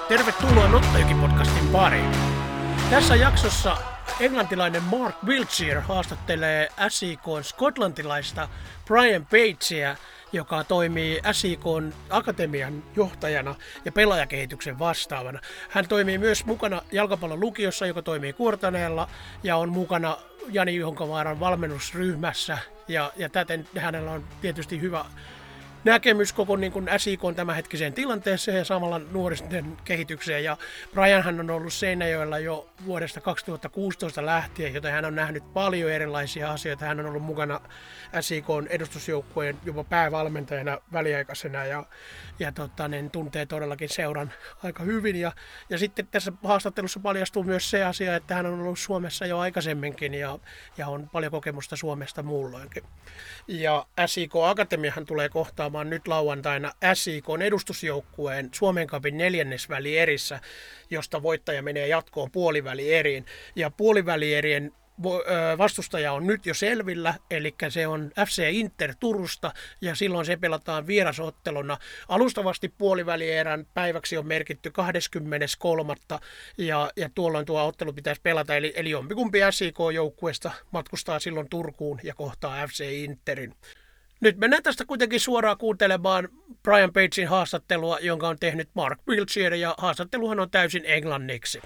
Tervetuloa Nottojoki-podcastin pariin. Tässä jaksossa englantilainen Mark Wiltshire haastattelee SIK:n skotlantilaista Brian Pagea, joka toimii SIK:n akatemian johtajana ja pelaajakehityksen vastaavana. Hän toimii myös mukana jalkapallon lukiossa, joka toimii Kuortaneella, ja on mukana Jani Juhonkavaaran valmennusryhmässä. Ja täten hänellä on tietysti hyvä näkemys koko niin kuin SIK:n tämänhetkiseen tilanteeseen ja samalla nuoristen kehitykseen. Ja Brianhan on ollut Seinäjoella jo vuodesta 2016 lähtien, joten hän on nähnyt paljon erilaisia asioita. Hän on ollut mukana SIK:n edustusjoukkueen jopa päävalmentajana väliaikaisena ja tuntee todellakin seuran aika hyvin. Ja sitten tässä haastattelussa paljastuu myös se asia, että hän on ollut Suomessa jo aikaisemminkin ja on paljon kokemusta Suomesta muulloinkin. Ja SIK Akatemiahan tulee kohtaamaan nyt lauantaina SIK:n edustusjoukkueen Suomen Cupin neljännesvälierissä, josta voittaja menee jatkoon puolivälieriin. Ja puolivälierien vastustaja on nyt jo selvillä, eli se on FC Inter Turusta, ja silloin se pelataan vierasotteluna. Alustavasti puolivälierän päiväksi on merkitty 23. ja tuolloin tuo ottelu pitäisi pelata, eli jompikumpi SIK-joukkueesta matkustaa silloin Turkuun ja kohtaa FC Interin. Nyt mennään tästä kuitenkin suoraan kuuntelemaan Brian Pagen haastattelua, jonka on tehnyt Mark Wiltshire, ja haastatteluhan on täysin englanniksi.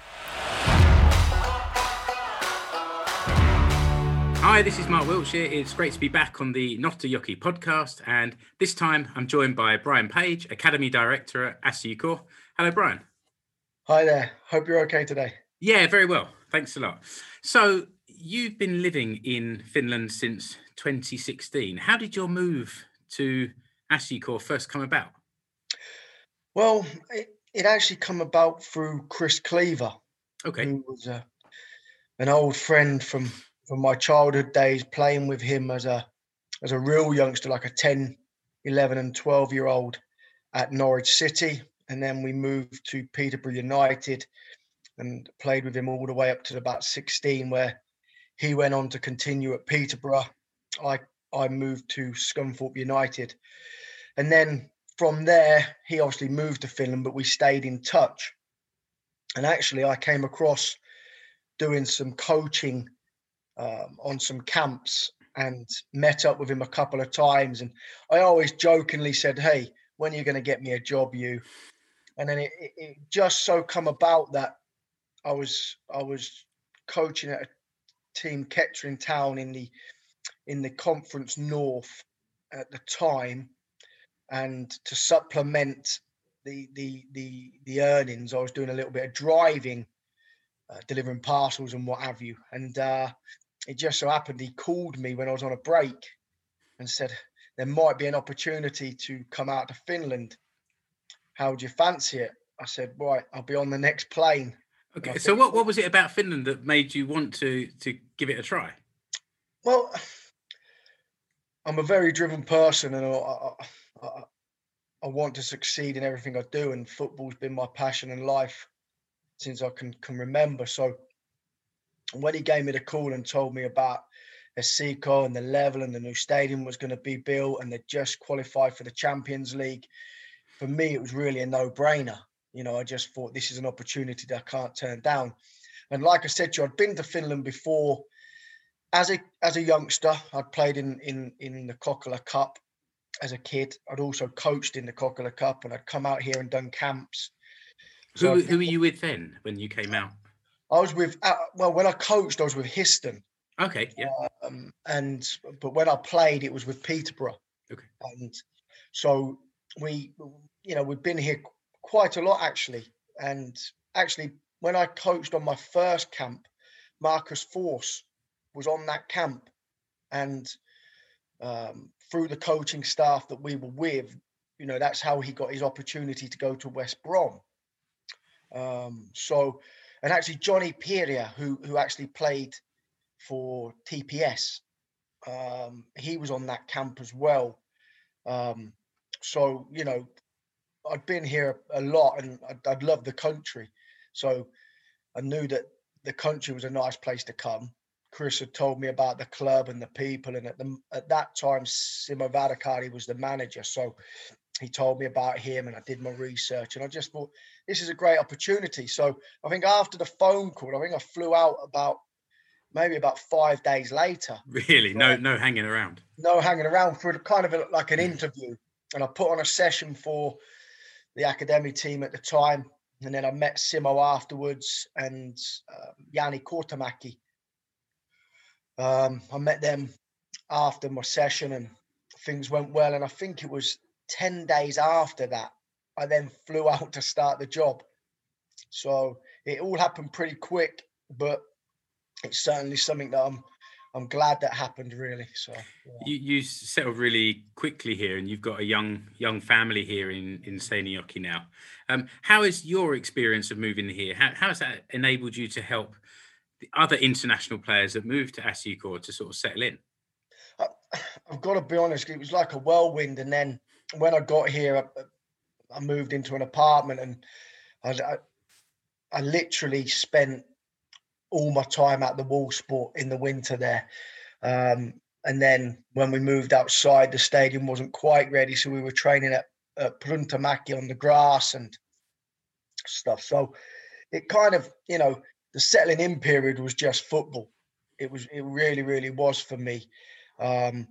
Hi, this is Mark Wiltshire. It's great to be back on the Nottojoki podcast, and this time I'm joined by Brian Page, Academy Director at SIK. Hello, Brian. Hi there. Hope you're okay today. Yeah, very well. Thanks a lot. So, you've been living in Finland since 2016. How did your move to SIK first come about? Well, it actually come about through Chris Cleaver, Okay. who was an old friend from my childhood days, playing with him as a real youngster, like a 10, 11 and 12-year-old at Norwich City. And then we moved to Peterborough United and played with him all the way up to about 16, where he went on to continue at Peterborough. I moved to Scunthorpe United. And then from there, he obviously moved to Finland, but we stayed in touch. And actually, I came across doing some coaching on some camps and met up with him a couple of times. And I always jokingly said, "Hey, when are you going to get me a job, you?" And then it just so come about that I was coaching at a team, Kettering Town, in the Conference North at the time, and to supplement the earnings, I was doing a little bit of driving, delivering parcels and what have you. And it just so happened he called me when I was on a break and said there might be an opportunity to come out to Finland. How would you fancy it? I said, right, I'll be on the next plane. Okay. So what was it about Finland that made you want to give it a try? Well, I'm a very driven person, and I want to succeed in everything I do, and football's been my passion in life since I can remember. So when he gave me the call and told me about SIK and the level and the new stadium was going to be built and they just qualified for the Champions League, for me it was really a no-brainer. You know, I just thought this is an opportunity that I can't turn down. And like I said to you, I'd been to Finland before as a youngster. I'd played in the Kokkola Cup as a kid. I'd also coached in the Kokkola Cup, and I'd come out here and done camps. Who were you with then when you came out? I was with, when I coached, I was with Histon. Okay, yeah. But when I played, it was with Peterborough. Okay. And so we've been here quite a lot, actually. And actually, when I coached on my first camp, Marcus Force was on that camp. And through the coaching staff that we were with, you know, that's how he got his opportunity to go to West Brom. And actually Johnny Piria, who actually played for TPS, he was on that camp as well. So, you know, I'd been here a lot, and I'd loved the country. So I knew that the country was a nice place to come. Chris had told me about the club and the people, and at that time, Simo Vadakari was the manager. So he told me about him, and I did my research, and I just thought this is a great opportunity. So I think after the phone call, I think I flew out maybe about 5 days later. Really? No hanging around. No hanging around for kind of like an interview. And I put on a session for the academy team at the time. And then I met Simo afterwards and Yanni Kortemäki. I met them after my session and things went well. And I think it was 10 days after that, I then flew out to start the job. So it all happened pretty quick, but it's certainly something that I'm glad that happened, really. So yeah. You settled really quickly here, and you've got a young family here in Seinäjoki now. How is your experience of moving here? How has that enabled you to help the other international players that moved to Asiko to sort of settle in? I've got to be honest, it was like a whirlwind. And then when I got here, I moved into an apartment, and I literally spent all my time at the wall sport in the winter there. And then when we moved outside, the stadium wasn't quite ready. So we were training at Pruntamaki on the grass and stuff. So it kind of, the settling in period was just football. It really, really was for me. And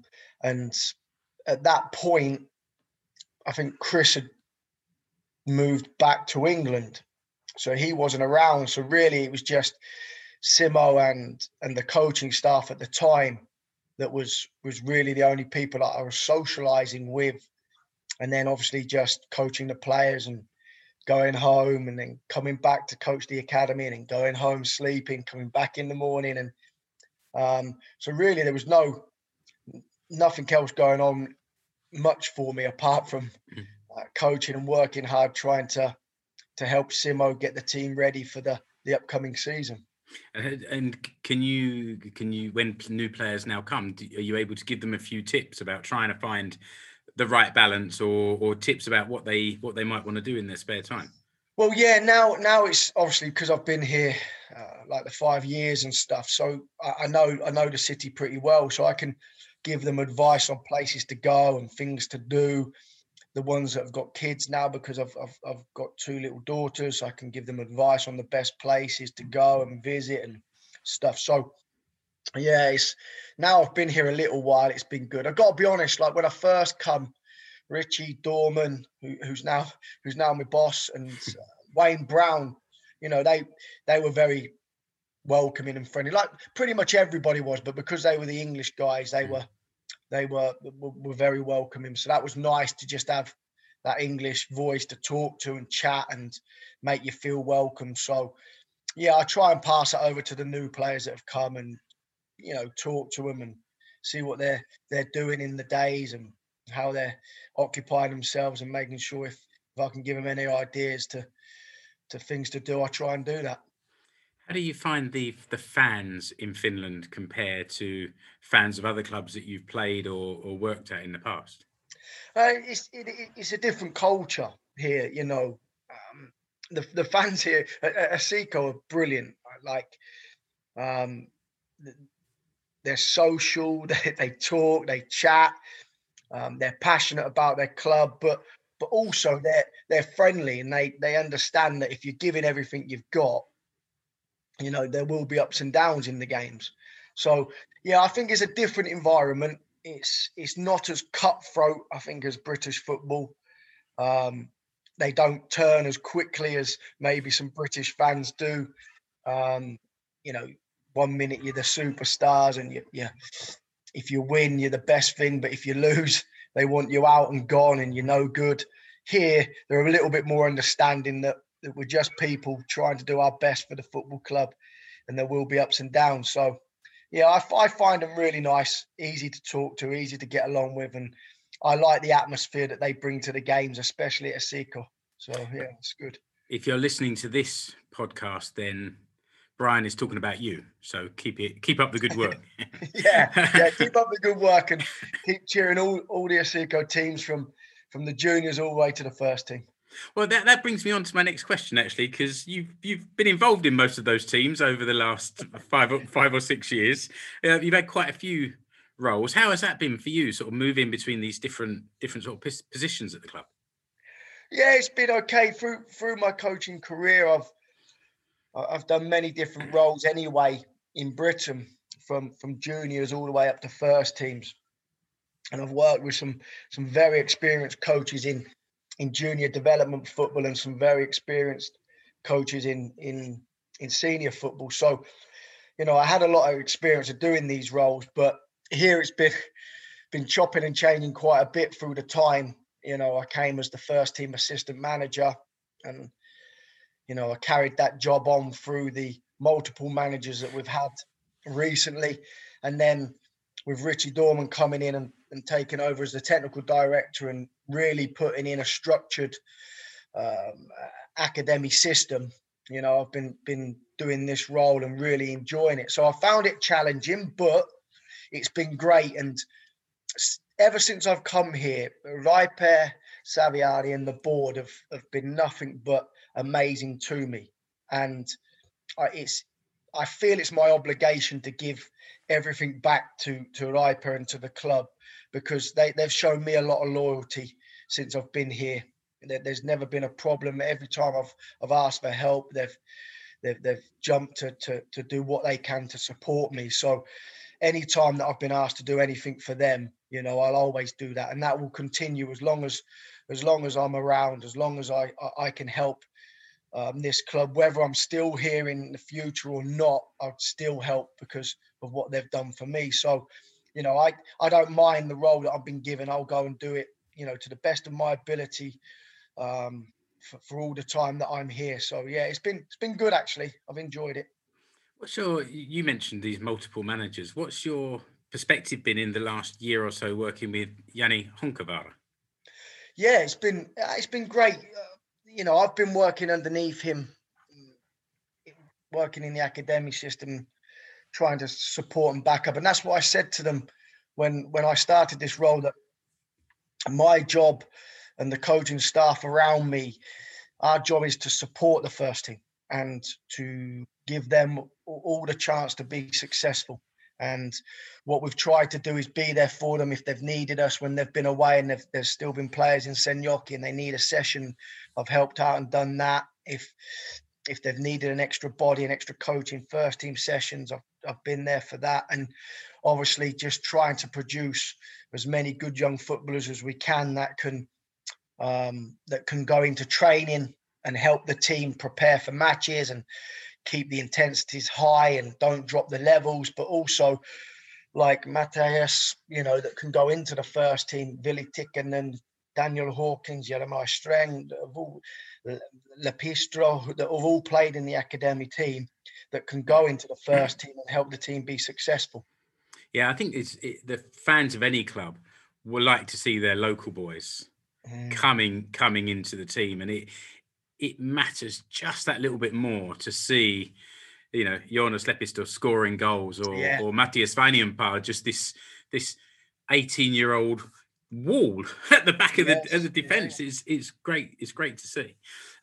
at that point, I think Chris had moved back to England. So he wasn't around. So really it was just Simo and the coaching staff at the time that was really the only people that I was socializing with. And then obviously just coaching the players and going home and then coming back to coach the academy and then going home, sleeping, coming back in the morning. And so really there was nothing else going on much for me apart from coaching and working hard, trying to help Simo get the team ready for the upcoming season. And can you when new players now come, are you able to give them a few tips about trying to find the right balance or tips about what they might want to do in their spare time? Well, yeah, now it's obviously because I've been here like the 5 years and stuff. So I know the city pretty well, so I can give them advice on places to go and things to do. The ones that have got kids now, because I've got 2 little daughters, I can give them advice on the best places to go and visit and stuff. So yeah, now I've been here a little while, it's been good. I've got to be honest, like when I first come, Richie Dorman, who's now my boss, and Wayne Brown, they were very welcoming and friendly, like pretty much everybody was, but because they were the English guys, they were very welcoming. So that was nice to just have that English voice to talk to and chat and make you feel welcome. So yeah, I try and pass it over to the new players that have come and, talk to them and see what they're doing in the days and how they're occupying themselves, and making sure if I can give them any ideas to things to do, I try and do that. How do you find the fans in Finland compare to fans of other clubs that you've played or worked at in the past? It's a different culture here, the fans here at Asiko are brilliant. Like, they're social, they talk, they chat, they're passionate about their club, but also they're friendly, and they understand that if you're giving everything you've got, there will be ups and downs in the games. So yeah, I think it's a different environment. It's not as cutthroat, I think, as British football. They don't turn as quickly as maybe some British fans do. 1 minute you're the superstars, and if you win, you're the best thing. But if you lose, they want you out and gone, and you're no good. Here, they're a little bit more understanding that we're just people trying to do our best for the football club, and there will be ups and downs. So yeah, I find them really nice, easy to talk to, easy to get along with, and I like the atmosphere that they bring to the games, especially at Asiko. So yeah, it's good. If you're listening to this podcast, then Brian is talking about you. So keep up the good work. yeah, keep up the good work and keep cheering all the Asiko teams from the juniors all the way to the first team. Well, that brings me on to my next question, actually, because you've been involved in most of those teams over the last 5 or 6 years. You've had quite a few roles. How has that been for you, sort of moving between these different sort of positions at the club? Yeah, it's been okay through my coaching career. I've done many different roles anyway in Britain, from juniors all the way up to first teams, and I've worked with some very experienced coaches in junior development football and some very experienced coaches in senior football. So, I had a lot of experience of doing these roles, but here it's been chopping and changing quite a bit through the time. I came as the first team assistant manager, and I carried that job on through the multiple managers that we've had recently. And then with Richie Dorman coming in and taking over as the technical director and really putting in a structured academy system, I've been doing this role and really enjoying it. So I found it challenging, but it's been great. And ever since I've come here, Raiper, Saviari and the board have been nothing but amazing to me. And I feel it's my obligation to give everything back to Raiper and to the club, because they've shown me a lot of loyalty since I've been here. There's never been a problem. Every time I've asked for help, they've jumped to do what they can to support me. So any time that I've been asked to do anything for them, I'll always do that, and that will continue as long as I'm around, as long as I can help this club. Whether I'm still here in the future or not, I'd still help because of what they've done for me. So, I don't mind the role that I've been given. I'll go and do it, to the best of my ability, for all the time that I'm here. So yeah, it's been good actually. I've enjoyed it. You mentioned these multiple managers. What's your perspective been in the last year or so working with Yanni Honkavara? Yeah, it's been great. I've been working underneath him, working in the academy system, trying to support and back up. And that's what I said to them when I started this role, that my job and the coaching staff around me, our job is to support the first team and to give them all the chance to be successful. And what we've tried to do is be there for them if they've needed us when they've been away, and there's still been players in Sen Ioki and they need a session. I've helped out and done that. If they've needed an extra body, an extra coach in first team sessions, I've been there for that. And obviously just trying to produce as many good young footballers as we can that can go into training and help the team prepare for matches and keep the intensities high and don't drop the levels, but also like Matthias, that can go into the first team, Vili Tikkanen, Daniel Hawkins, Jeremiah Streng, Lepistro, that have all played in the academy team, that can go into the first team and help the team be successful. Yeah, I think the fans of any club will like to see their local boys coming into the team, and it matters just that little bit more to see, Jonas Lepistö scoring goals or Matthias Vainienpää, just this 18-year-old wall at the back of the defense. It's great. It's great to see.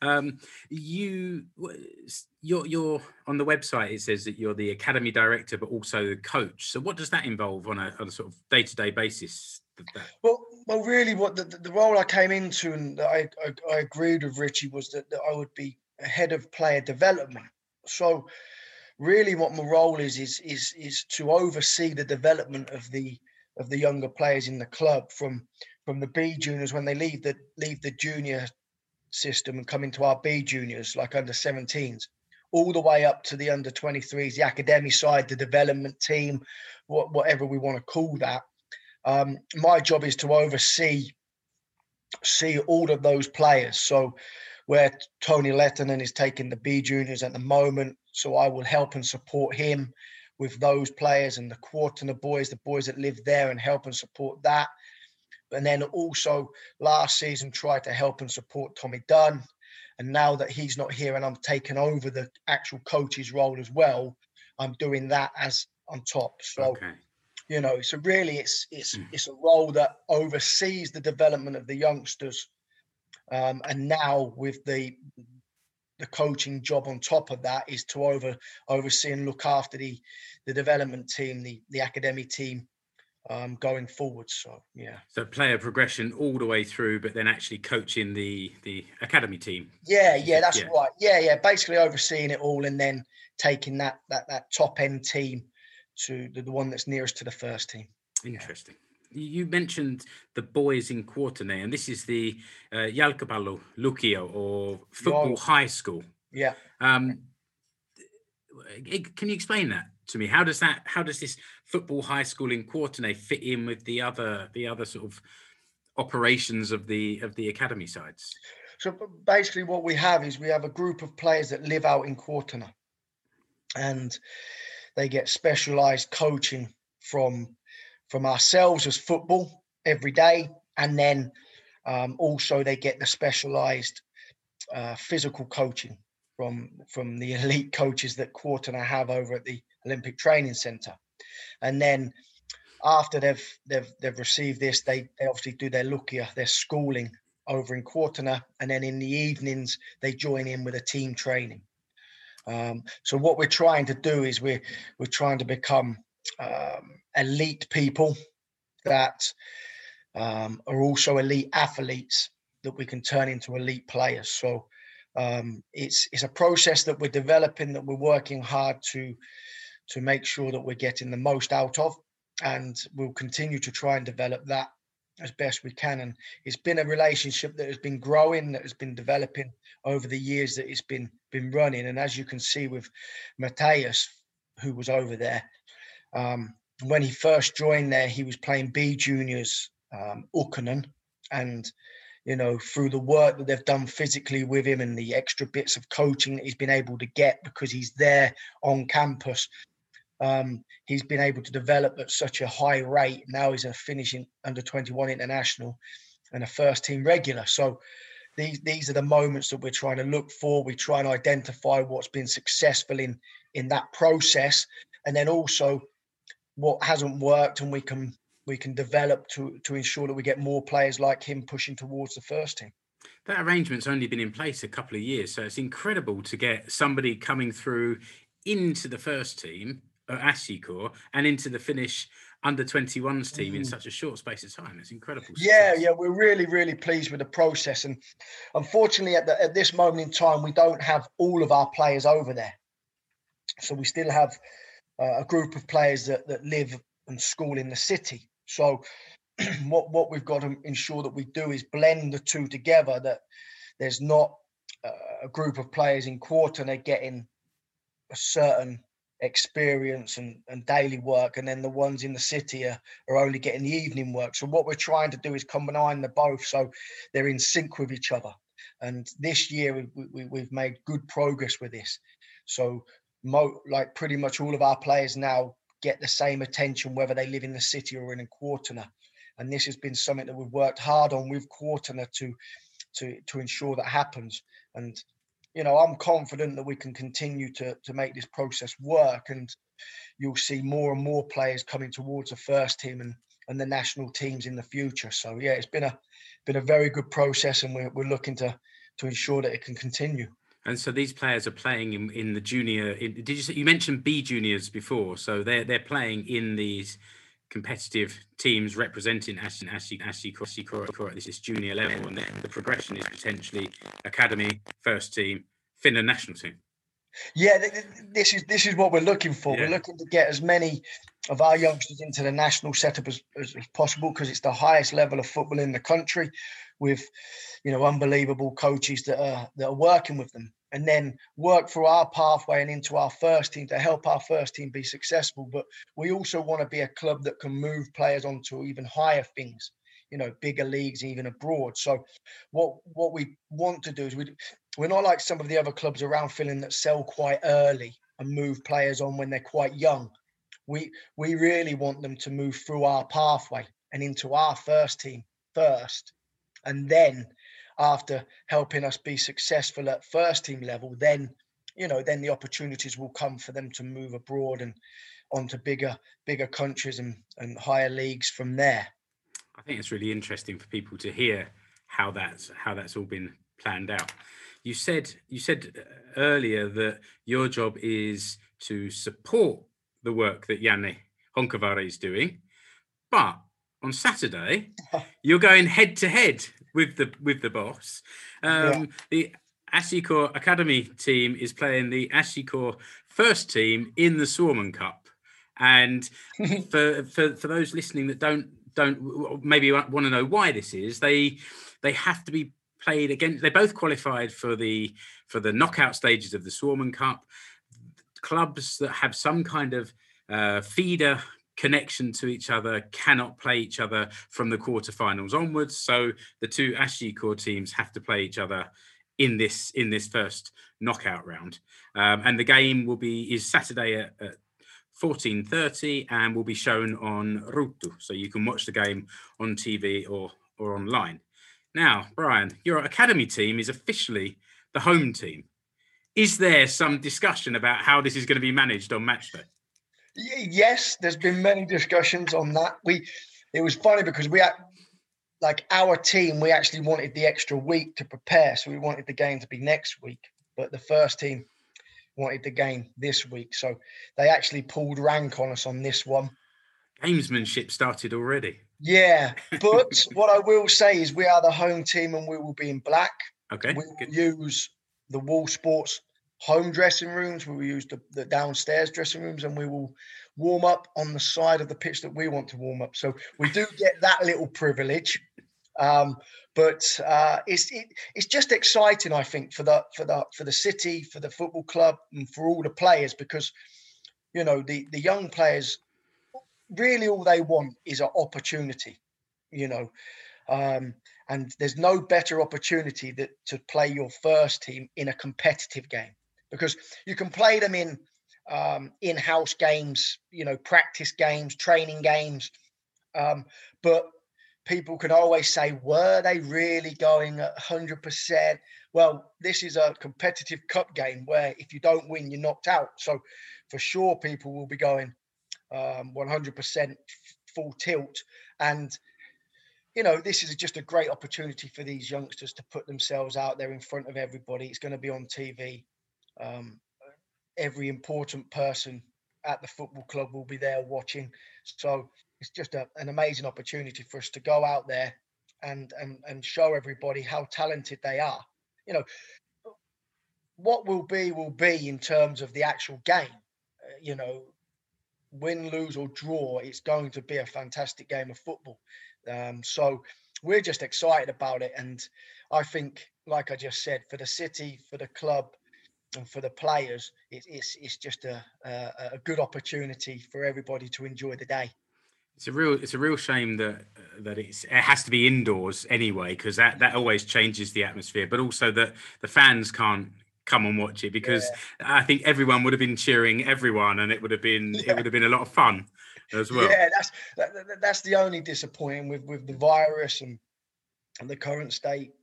You're on the website. It says that you're the academy director, but also the coach. So what does that involve on a sort of day-to-day basis? Well, really, what the role I came into and that I agreed with Richie was that I would be head of player development. So, really, what my role is to oversee the development of the younger players in the club from the B juniors when they leave the junior system and come into our B juniors, like under 17s, all the way up to the under 23s, the academy side, the development team, whatever we want to call that. My job is to oversee all of those players. So where Tony Lettinen is taking the B juniors at the moment, so I will help and support him with those players and the Quartner boys, the boys that live there, and help and support that. And then also last season tried to help and support Tommy Dunn. And now that he's not here and I'm taking over the actual coach's role as well, I'm doing that as on top. So. Okay. So really it's a role that oversees the development of the youngsters. And now with the coaching job on top of that is to oversee and look after the development team, the academy team, going forward. So yeah. So player progression all the way through, but then actually coaching the academy team. Yeah, that's right. Yeah. Basically overseeing it all, and then taking that top end team to the one that's nearest to the first team. Interesting. You mentioned the boys in Kuortane, and this is the Jalkapallo Lukio, or football high school. Yeah. Can you explain that to me? How does this football high school in Kuortane fit in with the other sort of operations of the academy sides? So basically what we have is we have a group of players that live out in Kuortane, and they get specialized coaching from ourselves as football every day, and then also they get the specialized physical coaching from the elite coaches that Kuortane have over at the Olympic Training Centre. And then after they've received this, they obviously do their lukia, their schooling over in Kuortane, and then in the evenings they join in with a team training. So what we're trying to do is we're trying to become elite people that are also elite athletes that we can turn into elite players. So it's a process that we're developing, that we're working hard to make sure that we're getting the most out of, and we'll continue to try and develop that as best we can. And it's been a relationship that has been growing, that has been developing over the years that it's been running. And as you can see with Matthias, who was over there, when he first joined there, he was playing B juniors, Ukkonen, and through the work that they've done physically with him and the extra bits of coaching that he's been able to get because he's there on campus, he's been able to develop at such a high rate. Now he's a finishing under-21 international and a first team regular. So these are the moments that we're trying to look for. We try and identify what's been successful in that process, and then also what hasn't worked, and we can develop to ensure that we get more players like him pushing towards the first team. That arrangement's only been in place a couple of years, so it's incredible to get somebody coming through into the first team at Asikor and into the Finnish under-21s team in such a short space of time. It's incredible success. Yeah, we're really, really pleased with the process. And unfortunately, at this moment in time, we don't have all of our players over there. So we still have a group of players that live and school in the city. So what we've got to ensure that we do is blend the two together, that there's not a group of players in Kuortane getting a certain experience and daily work, and then the ones in the city are only getting the evening work. So what we're trying to do is combine the both so they're in sync with each other. And this year we've made good progress with this. So like pretty much all of our players now get the same attention whether they live in the city or in Kuortane. And this has been something that we've worked hard on with Kuortane to ensure that happens. And I'm confident that we can continue to make this process work, and you'll see more and more players coming towards the first team and the national teams in the future. So yeah, it's been a very good process, and we're looking to ensure that it can continue. And so these players are playing in the junior. Did you say, you mentioned B juniors before? So they're playing in these competitive teams representing Asikor at this junior level, and then the progression is potentially academy, first team, Finland national team. Yeah, this is what we're looking for. Yeah. We're looking to get as many of our youngsters into the national setup as possible, because it's the highest level of football in the country, with unbelievable coaches that are working with them, and then work through our pathway and into our first team to help our first team be successful. But we also want to be a club that can move players onto even higher things, bigger leagues, even abroad. So what we want to do is we're not like some of the other clubs around Finland that sell quite early and move players on when they're quite young. We really want them to move through our pathway and into our first team first, and then after helping us be successful at first team level, then the opportunities will come for them to move abroad and onto bigger countries and higher leagues from there. I think it's really interesting for people to hear how that's all been planned out. You said earlier that your job is to support the work that Janne Honkavari is doing, But on Saturday, you're going head to head with the boss. The Ashikor Academy team is playing the Ashikor first team in the Swarman Cup. And for those listening that don't maybe want to know why this is, they have to be played against. They both qualified for the knockout stages of the Swarman Cup. Clubs that have some kind of feeder connection to each other cannot play each other from the quarterfinals onwards. So the two Ashikor teams have to play each other in this first knockout round. And the game is Saturday at 14:30 and will be shown on Ruutu. So you can watch the game on TV or online. Now, Brian, your academy team is officially the home team. Is there some discussion about how this is going to be managed on match day? Yes, there's been many discussions on that. It was funny because our team, we actually wanted the extra week to prepare. So we wanted the game to be next week, but the first team wanted the game this week. So they actually pulled rank on us on this one. Gamesmanship started already. Yeah, but what I will say is we are the home team and we will be in black. Okay. We will use the Wall Sports home dressing rooms. We will use the downstairs dressing rooms, and we will warm up on the side of the pitch that we want to warm up. So we do get that little privilege. But it's just exciting, I think, for the city, for the football club, and for all the players, because the young players, really all they want is an opportunity, and there's no better opportunity to play your first team in a competitive game, because you can play them in in-house games, practice games, training games, but people can always say, were they really going at 100%? Well, this is a competitive cup game where if you don't win, you're knocked out. So for sure, people will be going 100% full tilt. And, this is just a great opportunity for these youngsters to put themselves out there in front of everybody. It's going to be on TV. Every important person at the football club will be there watching. So it's just an amazing opportunity for us to go out there and show everybody how talented they are. What will be in terms of the actual game. Win, lose or draw, it's going to be a fantastic game of football. So we're just excited about it. And I think, like I just said, for the city, for the club, and for the players, it's just a good opportunity for everybody to enjoy the day. It's a real shame that it has to be indoors anyway, because that always changes the atmosphere. But also that the fans can't come and watch it, because I think everyone would have been cheering everyone, and it would have been a lot of fun as well. Yeah, that's the only disappointing with the virus and the current state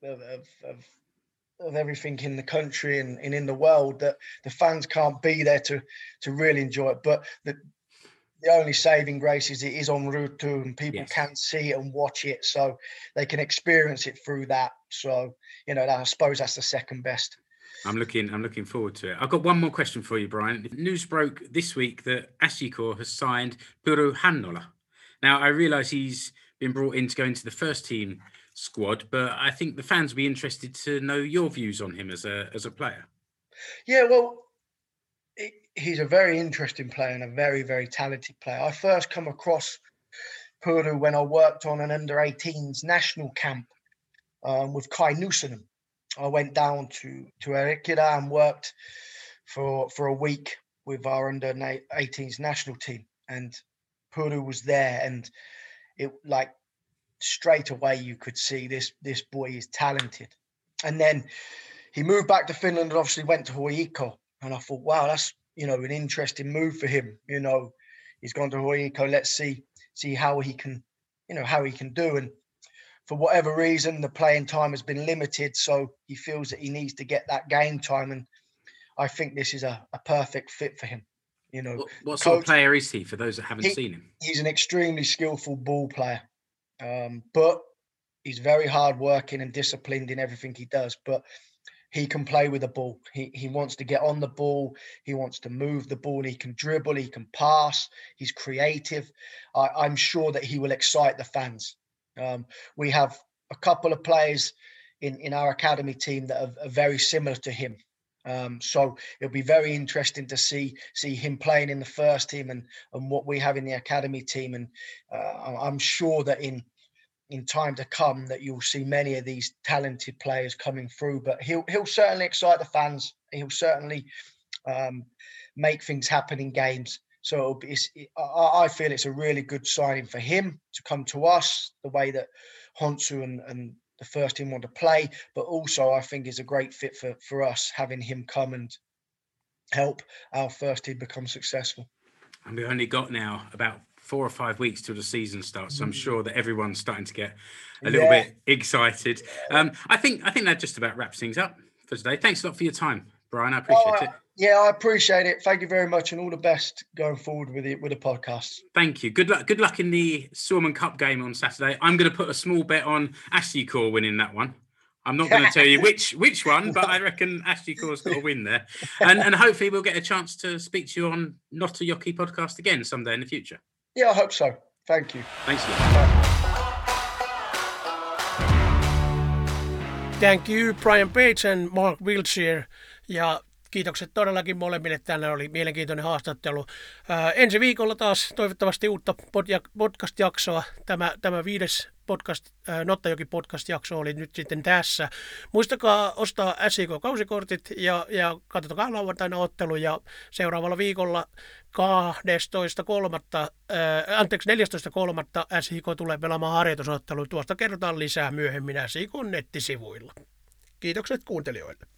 of everything in the country and in the world, that the fans can't be there to really enjoy it. But the only saving grace is it is on Ruutu and people can see it and watch it, so they can experience it through that. So, I suppose that's the second best. I'm looking forward to it. I've got one more question for you, Brian. News broke this week that Ashikor has signed Puru Hannola. Now, I realise he's been brought in to go into the first team squad, but I think the fans will be interested to know your views on him as a player. Yeah, well, he's a very interesting player and a very, very talented player. I first come across Puru when I worked on an under-18s national camp with Kai Nuusonen. I went down to Erikida and worked for a week with our under-18s national team, and Puru was there, and it straight away you could see this boy is talented. And then he moved back to Finland and obviously went to Hoiko, and I thought, wow, that's an interesting move for him. He's gone to Hoiko. Let's see how he can do. And for whatever reason, the playing time has been limited, so he feels that he needs to get that game time, and I think this is a perfect fit for him. What sort of player is he, for those that haven't seen him? He's an extremely skillful ball player, but he's very hardworking and disciplined in everything he does. But he can play with the ball. He wants to get on the ball. He wants to move the ball. He can dribble. He can pass. He's creative. I'm sure that he will excite the fans. We have a couple of players in our academy team that are very similar to him. So it'll be very interesting to see him playing in the first team and what we have in the academy team. And I'm sure that in time to come that you'll see many of these talented players coming through, but he'll certainly excite the fans. He'll certainly make things happen in games. So I feel it's a really good signing for him to come to us, the way that Honshu and the first team want to play, but also I think it's a great fit for us having him come and help our first team become successful. And we've only got now about 4 or 5 weeks till the season starts, so I'm sure that everyone's starting to get a little bit excited. I think that just about wraps things up for today. Thanks a lot for your time, Brian. I appreciate it. Yeah, I appreciate it. Thank you very much, and all the best going forward with the podcast. Thank you. Good luck in the Stormont Cup game on Saturday. I'm going to put a small bet on Ashley Core winning that one. I'm not going to tell you which one, but I reckon Ashley Core's got a win there. And hopefully we'll get a chance to speak to you on Not a Yockey podcast again someday in the future. Yeah, I hope so. Thank you. Thanks a lot. Thank you, Brian Page and Mark Wiltshire. Ja kiitokset todellakin molemmille. Tänne oli mielenkiintoinen haastattelu. Ensi viikolla taas toivottavasti uutta podcast-jaksoa. Tämä 5. Not a Yockey podcast-jakso oli nyt sitten tässä. Muistakaa ostaa SIK-kausikortit ja katsotaan lauantaina ottelu. Ja seuraavalla viikolla 14.3. SIK tulee pelaamaan harjoitusottelu. Tuosta kerrotaan lisää myöhemmin SIK nettisivuilla. Kiitokset kuuntelijoille.